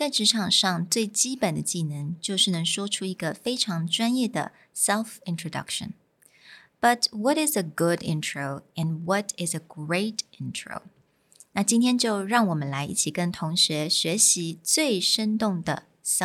在職場上最基本的技能就是能說出一個非常專業的 self-introduction. But what is a good intro and what is a great intro? 那今天就讓我們來一起跟同學學習最生動的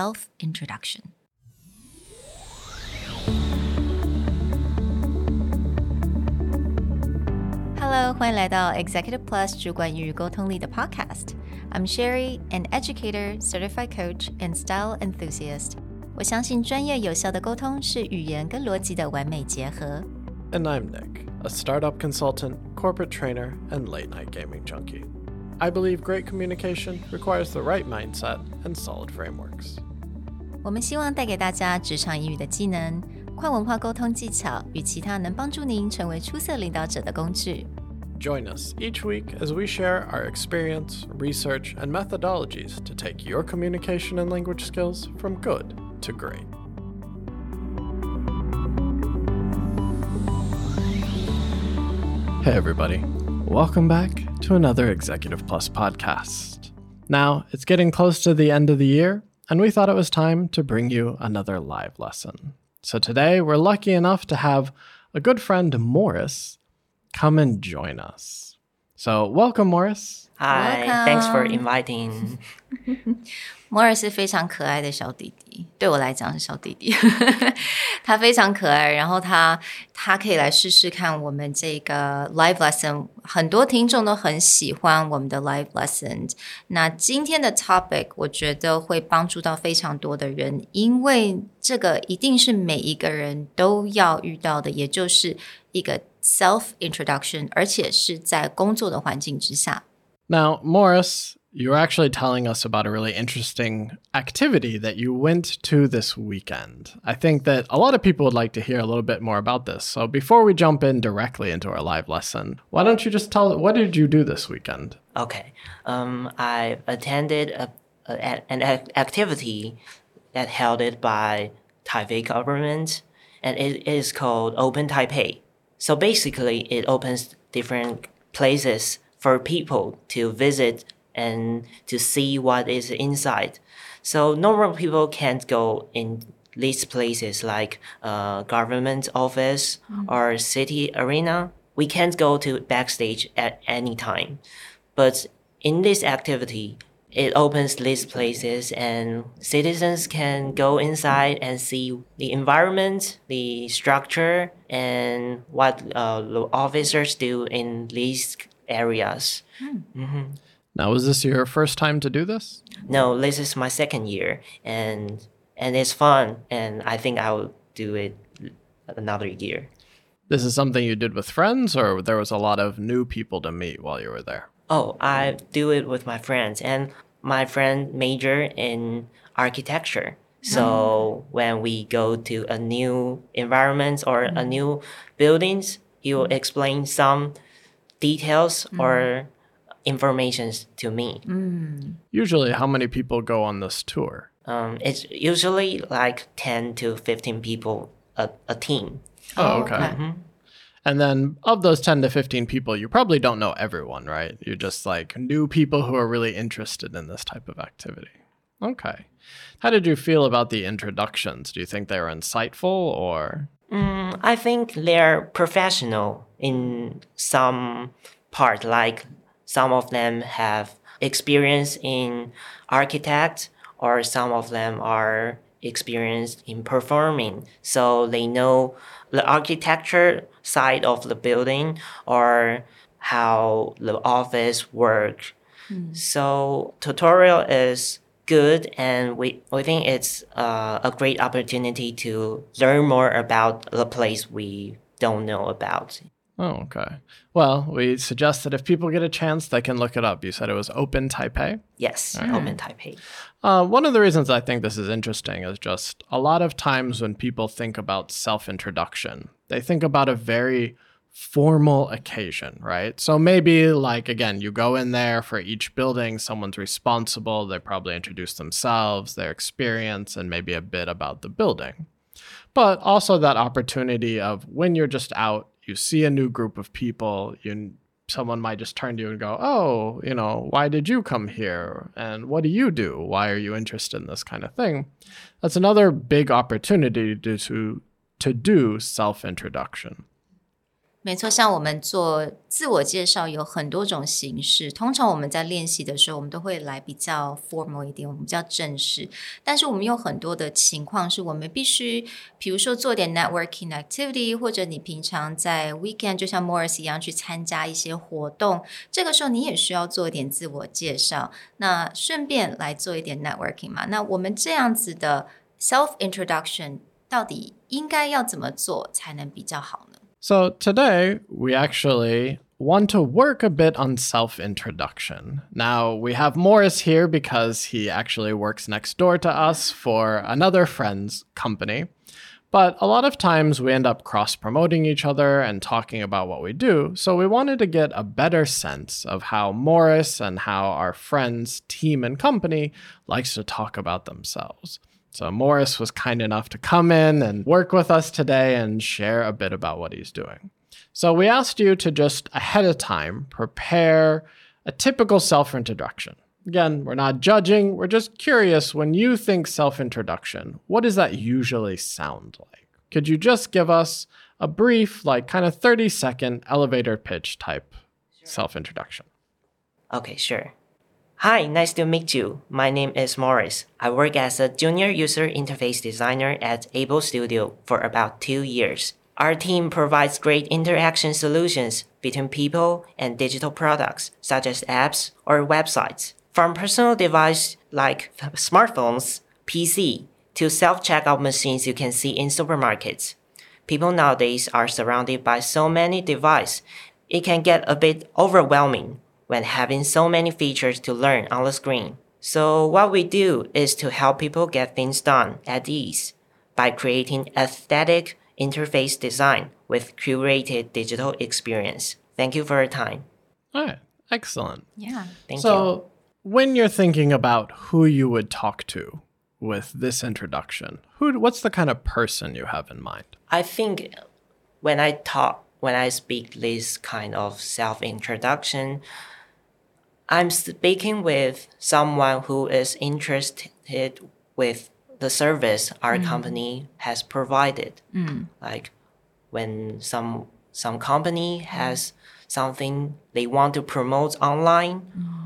self-introduction.Hello， 歡迎來到 Executive Plus 主管與溝通力的 Podcast。I'm Sherry, an educator, certified coach, and style enthusiast. 我相信專業有效的溝通是語言跟邏輯的完美結合。 And I'm Nick, a startup consultant, corporate trainer, and late-night gaming junkie. I believe great communication requires the right mindset and solid frameworks. 我們希望帶給大家職場英語的技能、跨文化溝通技巧與其他能幫助您成為出色領導者的工具。 Join us each week as we share our experience, research, and methodologies to take your communication and language skills from good to great. Hey everybody, welcome back to another Executive Plus podcast. Now, it's getting close to the end of the year, and we thought it was time to bring you another live lesson. So today, we're lucky enough to have a good friend, Morris, come and join us. So welcome, Morris. Hi, Welcome. Thanks for inviting. Morris 是非常可愛的小弟弟，對我來講是小弟弟。他非常可愛，然後他可以來試試看我們這個 live lesson。很多聽眾都很喜歡我們的 live lesson。那今天的 topic 我覺得會幫助到非常多的人，因為這個一定是每一個人都要遇到的，也就是一個 self-introduction， 而且是在工作的環境之下。 Now, Morris, you were actually telling us about a really interesting activity that you went to this weekend. I think that a lot of people would like to hear a little bit more about this. So before we jump in directly into our live lesson, why don't you just tell, what did you do this weekend? Okay. I attended an activity that held it by Taipei government, and it is called Open Taipei. So basically, it opens different places for people to visit and to see what is inside. So normal people can't go in these places like government office or city arena. We can't go to backstage at any time. But in this activity, it opens these places and citizens can go inside and see the environment, the structure, and what the officers do in these areas. Mm-hmm. Now, was this your first time to do this? No, this is my second year, and it's fun, and I think I will do it another year. This is something you did with friends, or there was a lot of new people to meet while you were there? Oh, I do it with my friends, and my friend major in architecture. So when we go to a new environment or a new buildings, he will explain some details or informations to me. Usually, how many people go on this tour? It's usually like 10 to 15 people a team. Oh, okay. Mm-hmm. And then of those 10 to 15 people, you probably don't know everyone, right? You're just like new people who are really interested in this type of activity. Okay. How did you feel about the introductions? Do you think they were insightful or? I think they're professional in some part, like some of them have experience in architect or some of them are experienced in performing. So they know the architecture side of the building or how the office works. So tutorial is good, and we think it's a great opportunity to learn more about the place we don't know about. Oh, okay. Well, we suggest that if people get a chance, they can look it up. You said it was Open Taipei? Yes, Open Taipei. One of the reasons I think this is interesting is just a lot of times when people think about self-introduction, they think about a very formal occasion, right? So maybe like, again, you go in there for each building, someone's responsible, they probably introduce themselves, their experience, and maybe a bit about the building. But also that opportunity of when you're just out, you see a new group of people, you someone might just turn to you and go, oh, why did you come here? And what do you do? Why are you interested in this kind of thing? That's another big opportunity to do self-introduction. 没錯，像我們做自我介紹有很多種形式，通常我們在練習的時候，我們都會來比較 formal 一點，我們比較正式。但是我們有很多的情況是我們必須，比如說做點 networking activity， 或者你平常在 weekend 就像 Morris 一樣去參加一些活動，這個時候你也需要做一點自我介紹，那順便來做一點 networking 嘛。那我們這樣子的 self introduction 到底應該要怎麼做才能比較好呢？ So today, we actually want to work a bit on self-introduction. Now, we have Morris here because he actually works next door to us for another friend's company. But a lot of times we end up cross-promoting each other and talking about what we do. So we wanted to get a better sense of how Morris and how our friend's team and company likes to talk about themselves. So Morris was kind enough to come in and work with us today and share a bit about what he's doing. So we asked you to just ahead of time prepare a typical self-introduction. Again, we're not judging, we're just curious, when you think self-introduction, what does that usually sound like? Could you just give us a brief, like kind of 30-second elevator pitch type self-introduction? Okay, sure. Hi, nice to meet you. My name is Morris. I work as a junior user interface designer at Able Studio for about 2 years. Our team provides great interaction solutions between people and digital products, such as apps or websites. From personal devices like smartphones, PC, to self-checkout machines you can see in supermarkets. People nowadays are surrounded by so many devices, it can get a bit overwhelming when having so many features to learn on the screen. So what we do is to help people get things done at ease by creating aesthetic interface design with curated digital experience. Thank you for your time. All right, excellent. Yeah. Thank you. So when you're thinking about who you would talk to with this introduction, what's the kind of person you have in mind? I think when I speak this kind of self-introduction, I'm speaking with someone who is interested with the service our company has provided. Like when some company has something they want to promote online,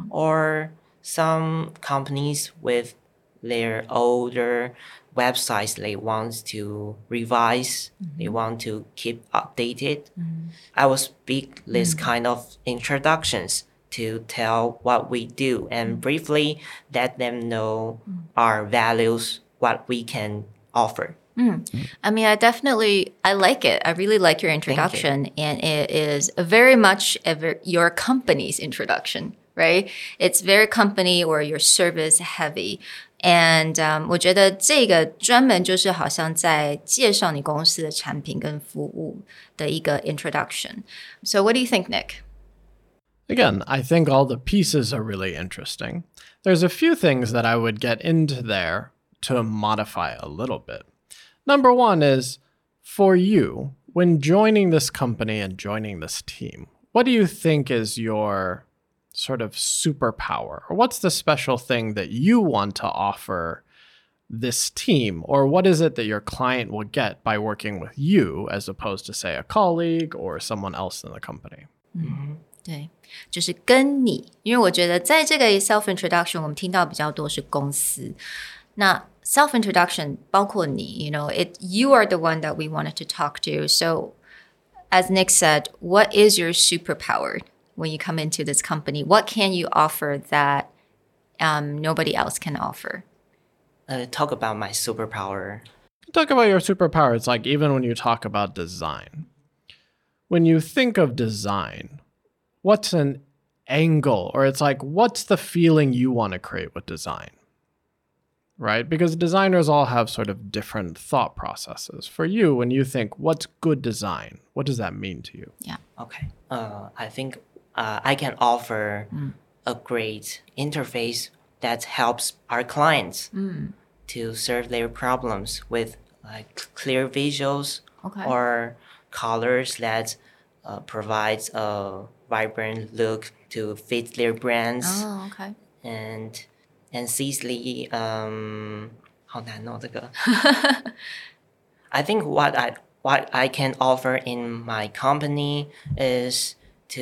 or some companies with their older websites they want to revise, they want to keep updated. I will speak this kind of introductions to tell what we do and briefly let them know our values, what we can offer. I mean, I like it. I really like your introduction. And it is very much your company's introduction, right? It's very company or your service heavy. And 我覺得這個專門就是好像在介紹你公司的產品跟服務的一個 introduction. So what do you think, Nick? Again, I think all the pieces are really interesting. There's a few things that I would get into there to modify a little bit. Number one is, for you, when joining this company and joining this team, what do you think is your sort of superpower? Or what's the special thing that you want to offer this team? Or what is it that your client will get by working with you as opposed to, say, a colleague or someone else in the company? 对，就是跟你，因为我觉得在这個 self-introduction 我們聽到比較多是公司，那 self-introduction 包括你 you are the one that we wanted to talk to. So as Nick said, what is your superpower when you come into this company? What can you offer that nobody else can offer? Talk about my superpower. Talk about your superpower. It's like even when you talk about design. When you think of design, what's an angle, or it's like, what's the feeling you want to create with design, right? Because designers all have sort of different thought processes. For you, when you think, what's good design, what does that mean to you? Yeah. Okay. I think I can offer a great interface that helps our clients to serve their problems with like clear visuals or colors that provides a vibrant look to fit their brands. Oh, okay. And Cecily, 好难哦，这个。I think what I can offer in my company is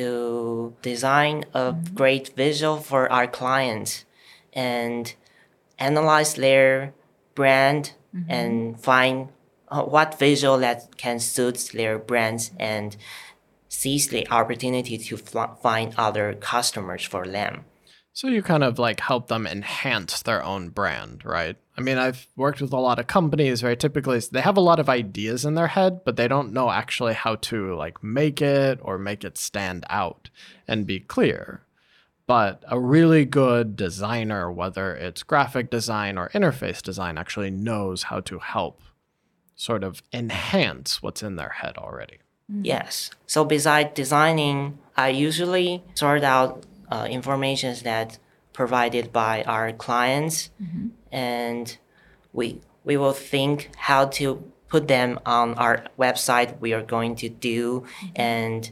to design a great visual for our clients and analyze their brand and find what visual that can suit their brands and seize the opportunity to find other customers for them. So you kind of like help them enhance their own brand, right? I mean, I've worked with a lot of companies, right? Typically, they have a lot of ideas in their head, but they don't know actually how to like make it or make it stand out and be clear. But a really good designer, whether it's graphic design or interface design, actually knows how to help sort of enhance what's in their head already. Yes. So besides designing, I usually sort out information that provided by our clients, and we will think how to put them on our website we are going to do, and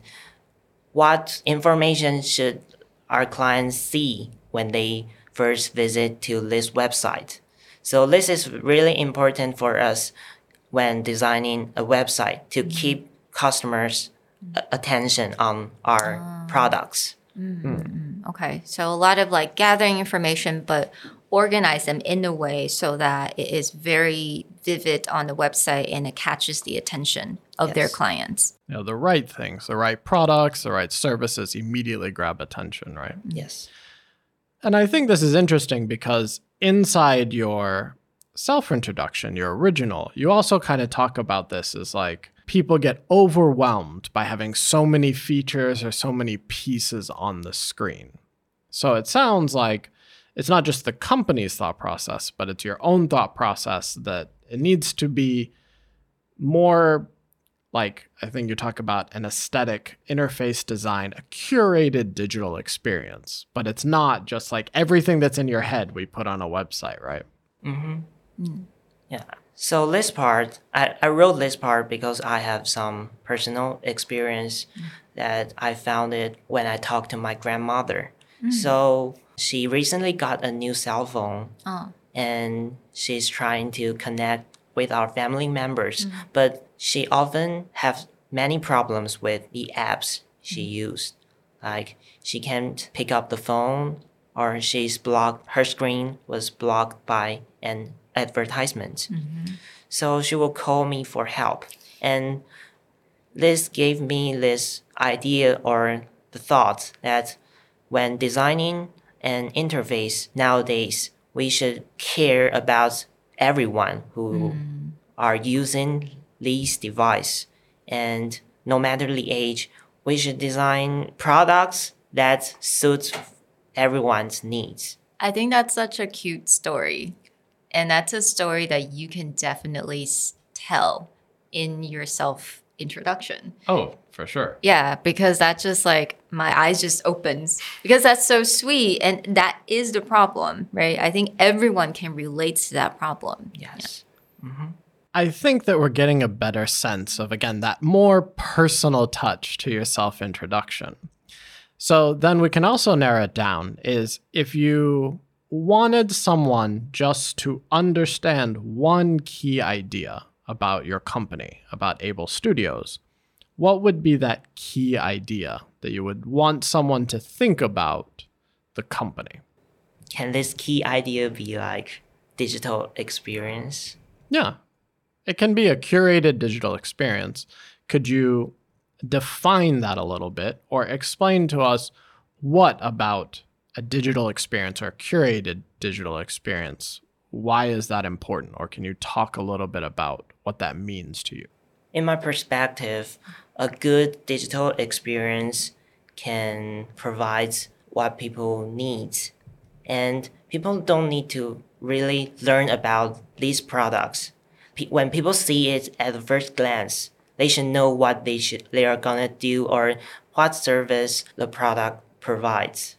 what information should our clients see when they first visit to this website. So this is really important for us when designing a website to keep customers' attention on our products. Okay, so a lot of like gathering information, but organize them in a way so that it is very vivid on the website and it catches the attention of their clients. You know, the right things, the right products, the right services immediately grab attention, right? Yes. And I think this is interesting because inside your self-introduction, your original, you also kind of talk about this as like people get overwhelmed by having so many features or so many pieces on the screen. So it sounds like it's not just the company's thought process, but it's your own thought process that it needs to be more like, I think you talk about an aesthetic interface design, a curated digital experience, but it's not just like everything that's in your head we put on a website, right? Yeah. So this part, I wrote this part because I have some personal experience that I found it when I talked to my grandmother. So she recently got a new cell phone and she's trying to connect with our family members, but she often have many problems with the apps she used. Like she can't pick up the phone, or she's blocked, her screen was blocked by an advertisement. So she will call me for help. And this gave me this idea or the thought that when designing an interface nowadays, we should care about everyone who are using these devices. And no matter the age, we should design products that suit everyone's needs. I think that's such a cute story. And that's a story that you can definitely tell in your self-introduction. Oh, for sure. Yeah, because that just like my eyes just opens because that's so sweet. And that is the problem, right? I think everyone can relate to that problem. Yes. I think that we're getting a better sense of, again, that more personal touch to your self-introduction. So then we can also narrow it down is if you wanted someone just to understand one key idea about your company, about Able Studios, what would be that key idea that you would want someone to think about the company? Can this key idea be like digital experience? Yeah, it can be a curated digital experience. Could you define that a little bit or explain to us what about a digital experience or a curated digital experience? Why is that important? Or can you talk a little bit about what that means to you? In my perspective, a good digital experience can provide what people need. And people don't need to really learn about these products. When people see it at the first glance, they should know what they are gonna do or what service the product provides.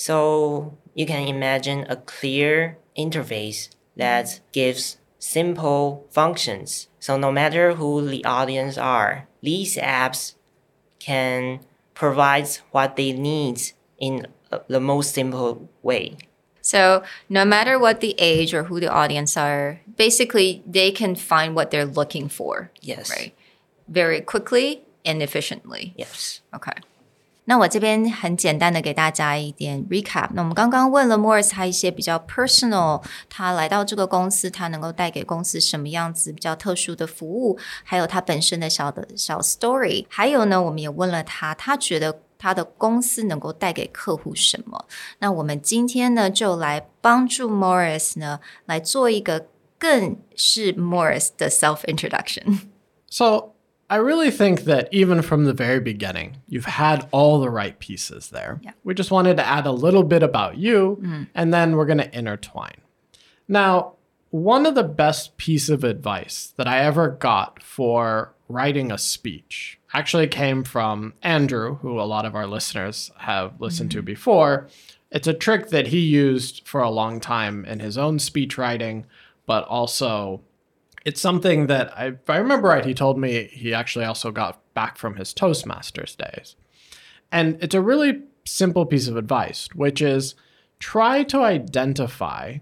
So you can imagine a clear interface that gives simple functions. So no matter who the audience are, these apps can provides what they need in the most simple way. So no matter what the age or who the audience are, basically they can find what they're looking for. Yes. Right. Very quickly and efficiently. Yes. Okay. 那我这邊很簡單的給大家一點 recap。那我們剛剛問了 Morris 他一些比較 personal， 他來到這個公司，他能夠帶給公司什麼樣子比較特殊的服務，還有他本身的小 story。還有呢，我們也問了他，他覺得他的公司能夠帶給客戶什麼。那我們今天呢，就來幫助 Morris 呢，來做一個更是 Morris 的 self introduction。 So I really think that even from the very beginning, you've had all the right pieces there. Yeah. We just wanted to add a little bit about you, and then we're going to intertwine. Now, one of the best pieces of advice that I ever got for writing a speech actually came from Andrew, who a lot of our listeners have listened to before. It's a trick that he used for a long time in his own speech writing, but also it's something that, if I remember right, he told me he actually also got back from his Toastmasters days. And it's a really simple piece of advice, which is try to identify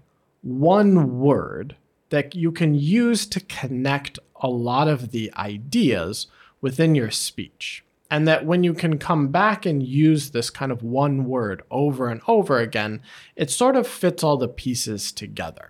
one word that you can use to connect a lot of the ideas within your speech. And that when you can come back and use this kind of one word over and over again, it sort of fits all the pieces together.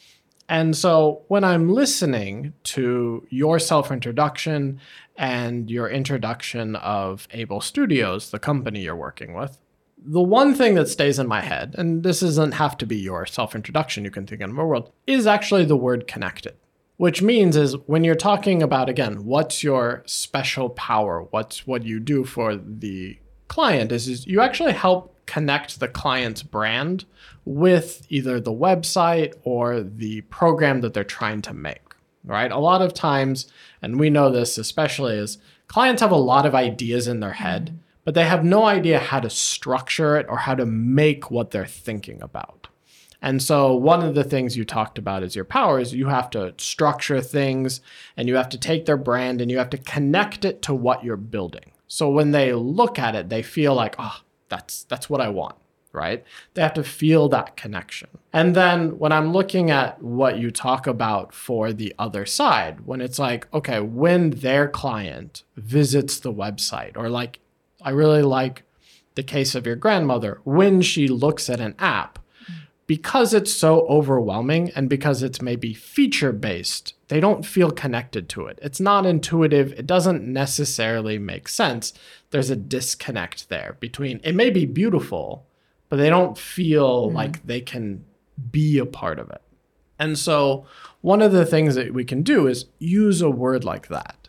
And so when I'm listening to your self-introduction and your introduction of Able Studios, the company you're working with, the one thing that stays in my head, and this doesn't have to be your self-introduction, you can think in a world, is actually the word connected. Which means is when you're talking about, again, what's your special power, what's what you do for the client, is you actually help connect the client's brand with either the website or the program that they're trying to make, right? A lot of times, and we know this especially, is clients have a lot of ideas in their head, but they have no idea how to structure it or how to make what they're thinking about. And so one of the things you talked about is your power is you have to structure things and you have to take their brand and you have to connect it to what you're building. So when they look at it, they feel like, oh, that's what I want, right? They have to feel that connection. And then when I'm looking at what you talk about for the other side, when it's like, okay, when their client visits the website, or like, I really like the case of your grandmother, when she looks at an app, because it's so overwhelming and because it's maybe feature-based, they don't feel connected to it. It's not intuitive. It doesn't necessarily make sense. There's a disconnect there between, it may be beautiful, but they don't feel like they can be a part of it. And so one of the things that we can do is use a word like that,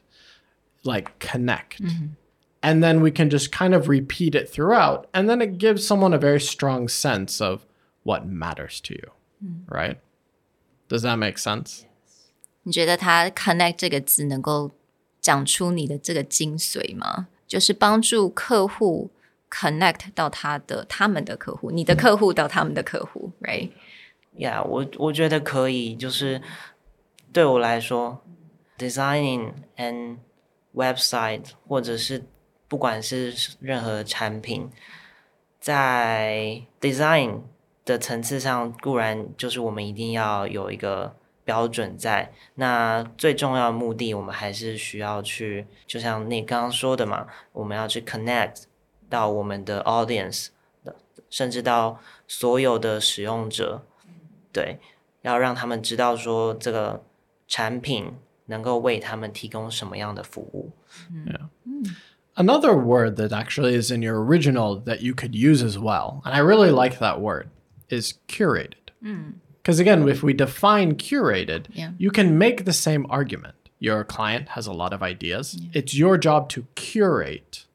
like connect. And then we can just kind of repeat it throughout. And then it gives someone a very strong sense of what matters to you, right? Does that make sense? 你覺得他 connect 這個字能夠講出你的這個精髓嗎？就是幫助客戶 connect 到他們的客戶，你的客戶到他們的客戶 right? Yeah, 我覺得可以，就是對我來說 ，designing and website 或者是不管是任何產品，在 design 的層次上，固然就是我們一定要有一個標準在。那最重要的目的，我們還是需要去，就像你剛剛說的嘛，我們要去 connect 到我們的 audience， 甚至到所有的使用者，對，要讓他們知道說這個產品能夠為他們提供什麼樣的服務。 Yeah. Another word that actually is in your original that you could use as well, and I really like that word, is curated. Because again, if we define curated, you can make the same argument. Your client has a lot of ideas. It's your job to curate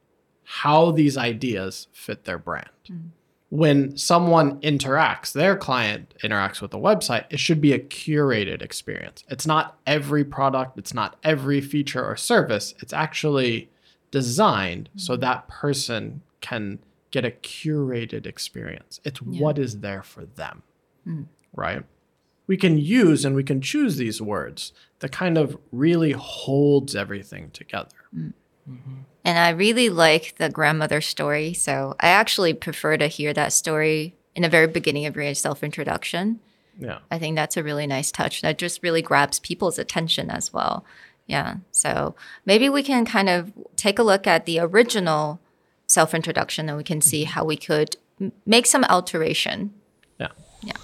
how these ideas fit their brand. When someone interacts, their client interacts with the website, it should be a curated experience. It's not every product, it's not every feature or service. It's actually designed so that person can get a curated experience. It's what is there for them, right? We can use and we can choose these words that kind of really holds everything together. And I really like the grandmother story. So I actually prefer to hear that story in the very beginning of your self-introduction. Yeah. I think that's a really nice touch. That just really grabs people's attention as well. Yeah. So maybe we can kind of take a look at the original self-introduction and we can see how we could make some alteration. Yeah. Yeah.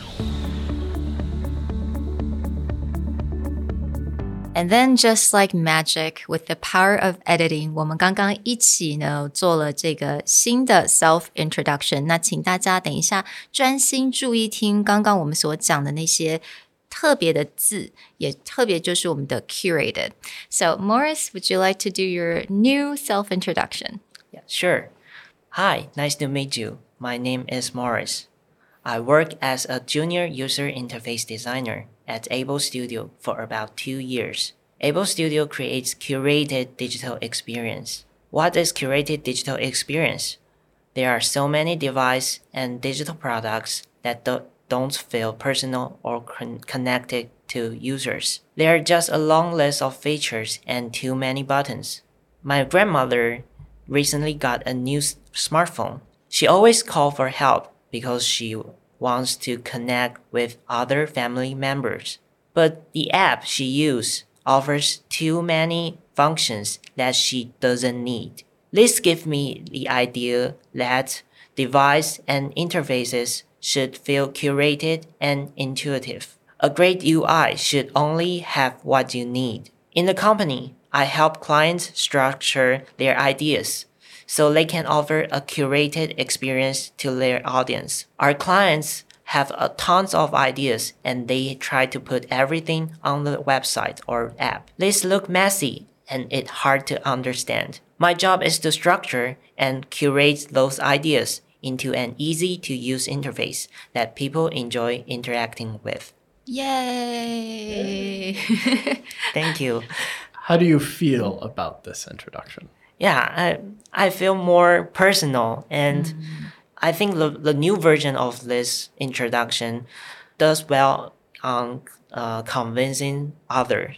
And then just like magic, with the power of editing, 我们刚刚一起呢做了这个新的 self-introduction。那請大家等一下專心注意聽剛剛我們所講的那些特別的字，也特別就是我們的 curated. So Morris, would you like to do your new self-introduction? Yeah, sure. Hi, nice to meet you. My name is Morris. I work as a junior user interface designer at Able Studio for about 2 years. Able Studio creates curated digital experience. What is curated digital experience? There are so many devices and digital products that don't feel personal or connected to users. They are just a long list of features and too many buttons. My grandmother recently got a new smartphone. She always calls for help because she wants to connect with other family members. But the app she uses offers too many functions that she doesn't need. This gives me the idea that device and interfaces should feel curated and intuitive. A great UI should only have what you need. In the company, I help clients structure their ideas so they can offer a curated experience to their audience. Our clients have tons of ideas and they try to put everything on the website or app. These look messy and it's hard to understand. My job is to structure and curate those ideas into an easy-to-use interface that people enjoy interacting with. Yay! Thank you. How do you feel about this introduction? Yeah, I feel more personal, and I think the new version of this introduction does well on convincing others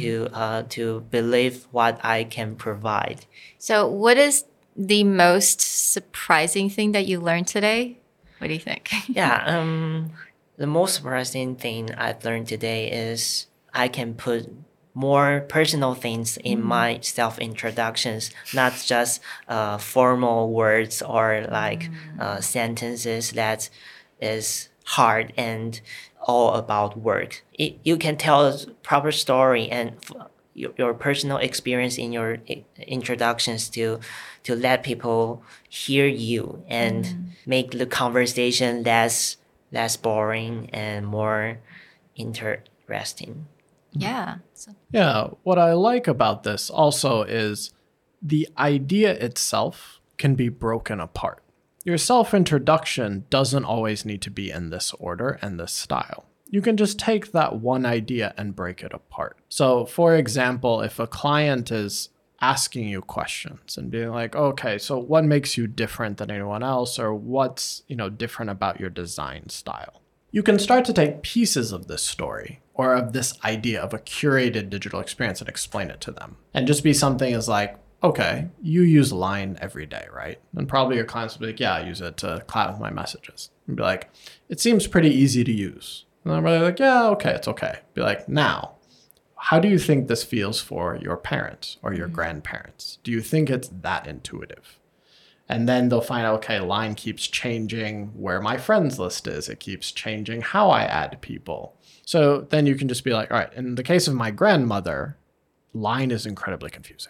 to believe what I can provide. So what is the most surprising thing that you learned today? What do you think? Yeah, the most surprising thing I've learned today is I can put more personal things in my self-introductions, not just formal words or like sentences that is hard and all about work. You can tell a proper story and your personal experience in your introductions to let people hear you and make the conversation less boring and more interesting. Yeah. Yeah, what I like about this also is the idea itself can be broken apart. Your self-introduction doesn't always need to be in this order and this style. You can just take that one idea and break it apart. So, for example, if a client is asking you questions and being like, okay, so what makes you different than anyone else, or what's, different about your design style? You can start to take pieces of this story or of this idea of a curated digital experience and explain it to them. And just be something as like, okay, you use Line every day, right? And probably your clients will be like, yeah, I use it to chat with my messages. And be like, it seems pretty easy to use. And I'm really like, yeah, okay, it's okay. Be like, now, how do you think this feels for your parents or your grandparents? Do you think it's that intuitive? And then they'll find out, okay, Line keeps changing where my friends list is. It keeps changing how I add people. So then you can just be like, all right, in the case of my grandmother, Line is incredibly confusing.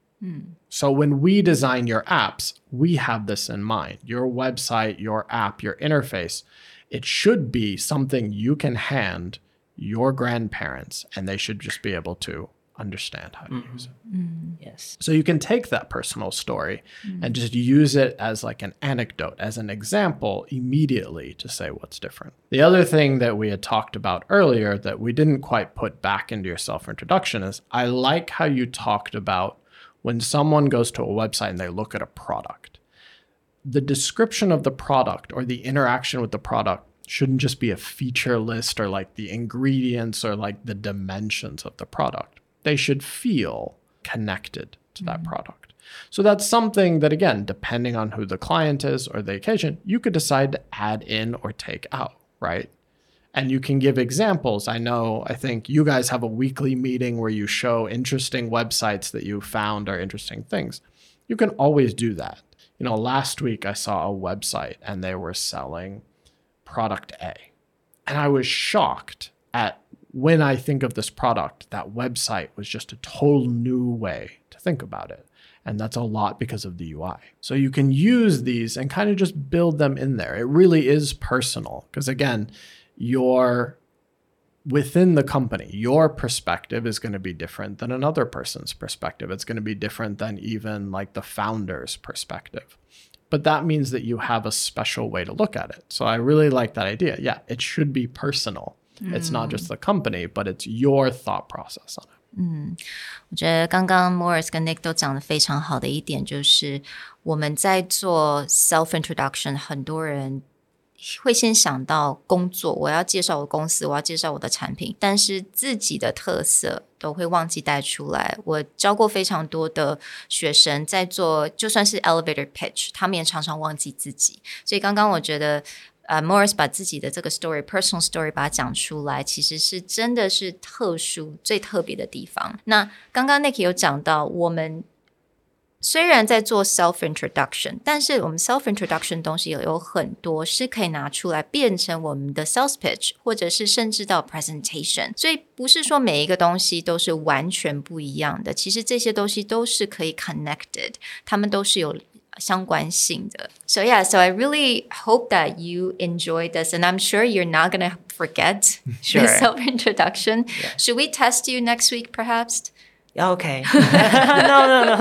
So when we design your apps, we have this in mind. Your website, your app, your interface, it should be something you can hand your grandparents and they should just be able to understand how to use it. Yes. So you can take that personal story and just use it as like an anecdote, as an example immediately to say what's different. The other thing that we had talked about earlier that we didn't quite put back into your self-introduction is I like how you talked about when someone goes to a website and they look at a product. The description of the product or the interaction with the product shouldn't just be a feature list or like the ingredients or like the dimensions of the product. They should feel connected to that product. So that's something that, again, depending on who the client is or the occasion, you could decide to add in or take out, right? And you can give examples. I think you guys have a weekly meeting where you show interesting websites that you found are interesting things. You can always do that. Last week I saw a website and they were selling product A. And I was shocked at when I think of this product, that website was just a total new way to think about it. And that's a lot because of the UI. So you can use these and kind of just build them in there. It really is personal because, again, within the company, your perspective is going to be different than another person's perspective. It's going to be different than even like the founder's perspective. But that means that you have a special way to look at it. So I really like that idea. Yeah, it should be personal. It's not just the company, but it's your thought process on it. 我覺得剛剛 Morris 跟 Nick 都講得非常好的一點就是我們在做 self-introduction 很多人會先想到工作，我要介紹我的公司，我要介紹我的產品，但是自己的特色都會忘記帶出來。我教過非常多的學生在做就算是 elevator pitch 他們也常常忘記自己，所以剛剛我覺得Morris 把自己的這個 personal story 把它講出來，其實是真的是特殊最特別的地方。那剛剛 Nick 有講到我們雖然在做 self-introduction， 但是我們 self-introduction 東西有很多是可以拿出來變成我們的 sales pitch， 或者是甚至到 presentation。所以不是說每一個東西都是完全不一樣的，其實這些東西都是可以 connected， 它們都是有相關性的。So yeah, so I really hope that you enjoyed this, and I'm sure you're not going to forget the self-introduction. Yeah. Should we test you next week, perhaps? Okay. No.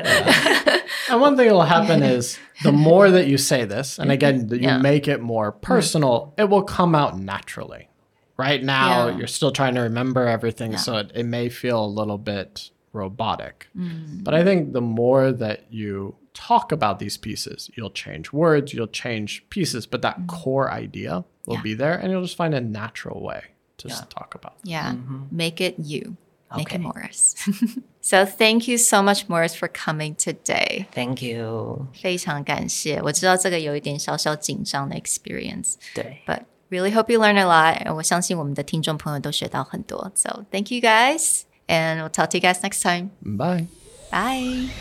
And one thing that will happen is the more that you say this, and again, that you make it more personal, it will come out naturally. Right now, you're still trying to remember everything, so it may feel a little bit robotic. But I think the more that you talk about these pieces, you'll change words, you'll change pieces, but that core idea will be there, and you'll just find a natural way to talk about it. Yeah, make it you. Make it Morris. So thank you so much, Morris, for coming today. Thank you. 非常感謝。我知道這個有一點小小緊張的 experience. 對。 But really hope you learn a lot. 我相信我們的聽眾朋友都學到很多。So thank you guys, and we'll talk to you guys next time. Bye. Bye.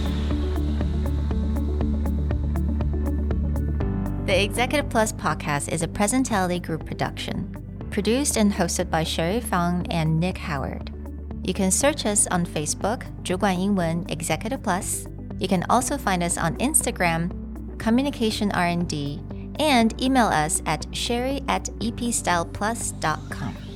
The Executive Plus podcast is a Presentality Group production, produced and hosted by Sherry Fang and Nick Howard. You can search us on Facebook, 主管英文 Executive Plus. You can also find us on Instagram, Communication R&D, and email us at sherry@epstyleplus.com.